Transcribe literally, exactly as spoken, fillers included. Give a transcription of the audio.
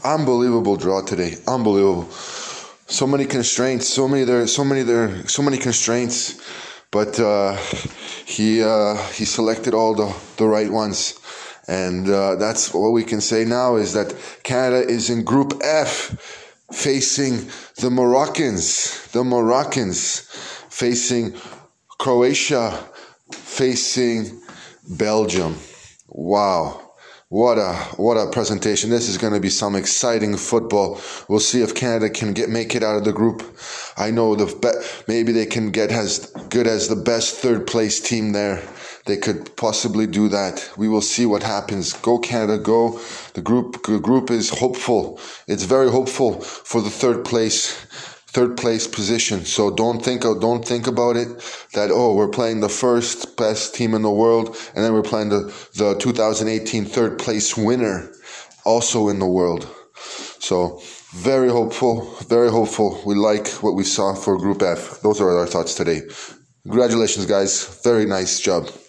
Unbelievable draw today. Unbelievable. So many constraints. So many there. So many there. So many constraints. But uh, he uh, he selected all the, the right ones, and uh, that's what we can say now is that Canada is in Group F, facing the Moroccans. The Moroccans facing Croatia, facing Belgium. Wow. What a what a presentation. This is going to be some exciting football. We'll see if Canada can get make it out of the group. I know the be- maybe they can get as good as the best third place team there. They could possibly do that. We will see what happens. Go Canada, go. The group the group is hopeful. It's very hopeful for the third place third place position. So don't think of, don't think about it that, oh, we're playing the first best team in the world and then we're playing the, the two thousand eighteen third place winner also in the world. So very hopeful, very hopeful. We like what we saw for Group F. Those are our thoughts today. Congratulations, guys. Very nice job.